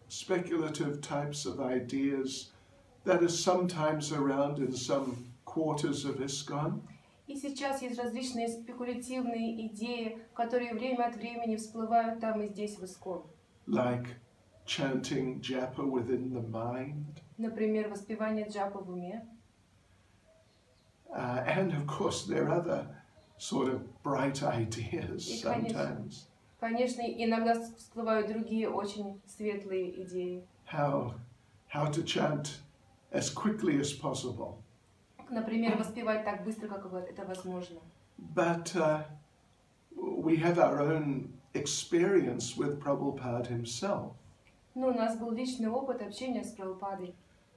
speculative types of ideas that are sometimes around in some quarters of ISKCON. И сейчас есть различные спекулятивные идеи, которые время от времени всплывают там и здесь в ISKCON. Like chanting japa within the mind. Например, воспевание джапа в уме. And of course there are other sort of bright ideas sometimes. Конечно, иногда всплывают другие очень светлые идеи. How to chant as quickly as possible. Например, воспевать так быстро, как это возможно. But we have our own experience with Prabhupada himself. Но у нас был личный опыт общения с Прабхупадой.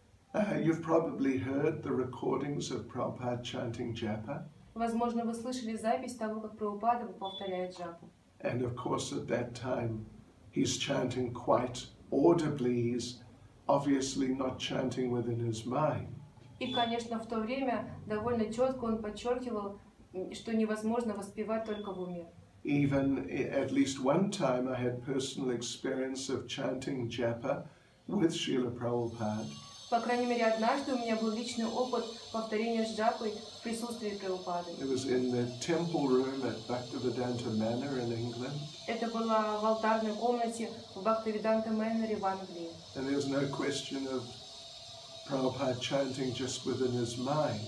You've probably heard the recordings of Prabhupada chanting japa. Возможно, вы слышали запись того, как Прабхупада повторяет джапу. And of course at that time he's chanting quite audibly. He's obviously not chanting within his mind. И, конечно, в то время довольно четко он подчеркивал, что невозможно воспевать только в уме. Even at least one time I had personal experience of chanting japa with Srila Prabhupada. По крайней мере, однажды у меня был личный опыт повторения джапы в присутствии Прабхупады. It was in the temple room at Bhaktivedanta Manor in England. Это было в алтарной комнате в Бхактивиданта Мэннере в Англии. And there was no question of Prabhupada chanting just within his mind.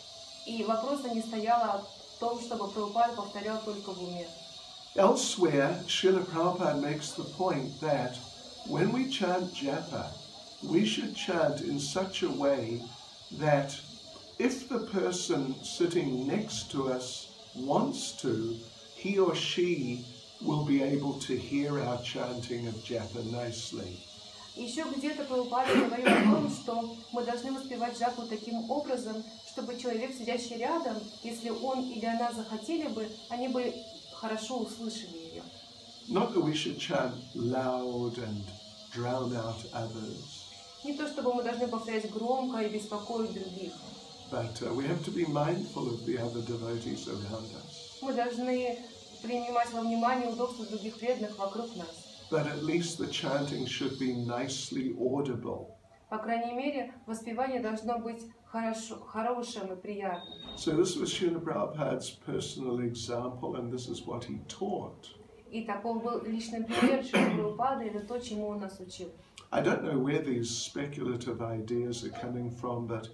И вопроса не стояло о том, чтобы Прабхупада повторял только в уме. Elsewhere, Srila Prabhupada makes the point that when we chant japa, we should chant in such a way that if the person sitting next to us wants to, he or she will be able to hear our chanting of japa nicely. Еще где-то Прабхупада говорил о том, что мы должны воспевать джапу таким образом, чтобы человек, сидящий рядом, если он или она захотели бы, они бы хорошо услышали ее. Not that we should chant loud and drown out others. Не то, чтобы мы должны повторять громко и беспокоить других. But we have to be mindful of the other devotees around us. Мы должны принимать во внимание удобства других преданных вокруг нас. But at least the chanting should be nicely audible. По крайней мере, воспевание должно быть хорошим и приятным. So this was Srila Prabhupada's personal example, and this is what he taught. И таков был личный пример Шрилы Прабхупады, это то, чему он нас учил. I don't know where these speculative ideas are coming from, but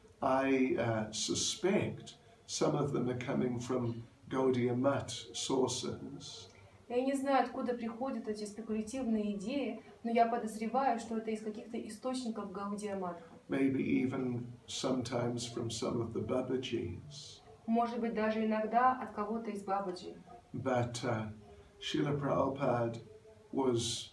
I suspect some of them are coming from Gaudiya Math sources. Я не знаю, откуда приходят эти спекулятивные идеи, но я подозреваю, что это из каких-то источников Гаудия Матха. Maybe even sometimes from some of the Babajis. Может быть, даже иногда от кого-то из Бабаджи. But Srila Prabhupada was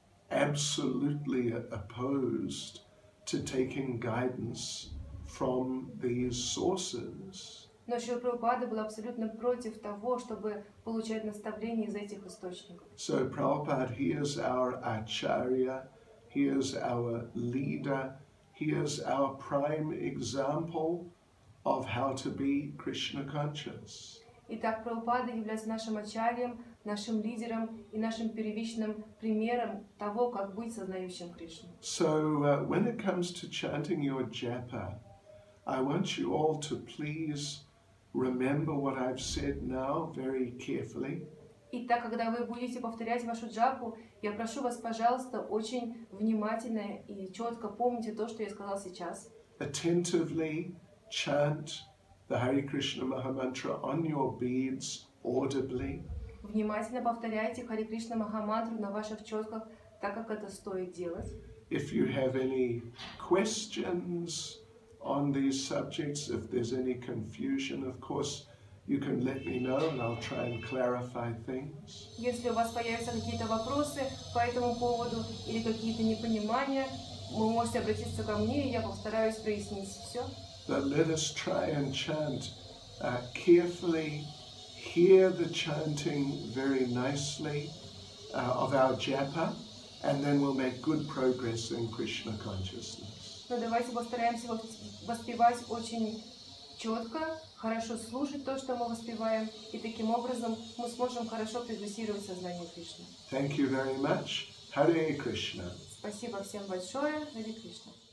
absolutely opposed to taking guidance from these sources. Но Шрила Прабхупада был абсолютно против того, чтобы получать наставления из этих источников. So Prabhupada, he is our acharya, he is our leader, he is our prime example of how to be Krishna conscious. Итак, Прабхупада является нашим ачарьем, нашим лидером и нашим первичным примером того, как быть сознающим Кришну. So when it comes to chanting your japa, I want you all to please remember what I've said now very carefully. Итак, когда вы будете повторять вашу джапу, я прошу вас, пожалуйста, очень внимательно и четко помните то, что я сказал сейчас. Attentively chant the Hare Krishna Mahamantra on your beads audibly. Внимательно повторяйте Харе Кришна Махамантру на ваших четках, так как это стоит делать. If you have any questions on these subjects, if there's any confusion, of course, you can let me know and I'll try and clarify things. Если у вас появятся какие-то вопросы по этому поводу или какие-то непонимания, вы можете обратиться ко мне, и я постараюсь прояснить все. But let us try and chant carefully, hear the chanting very nicely of our japa, and then we'll make good progress in Krishna consciousness. Но давайте постараемся воспевать очень четко, хорошо слушать то, что мы воспеваем, и таким образом мы сможем хорошо прогрессировать в сознании Кришны. Thank you very much. Hare Krishna. Спасибо всем большое. Харе Кришна.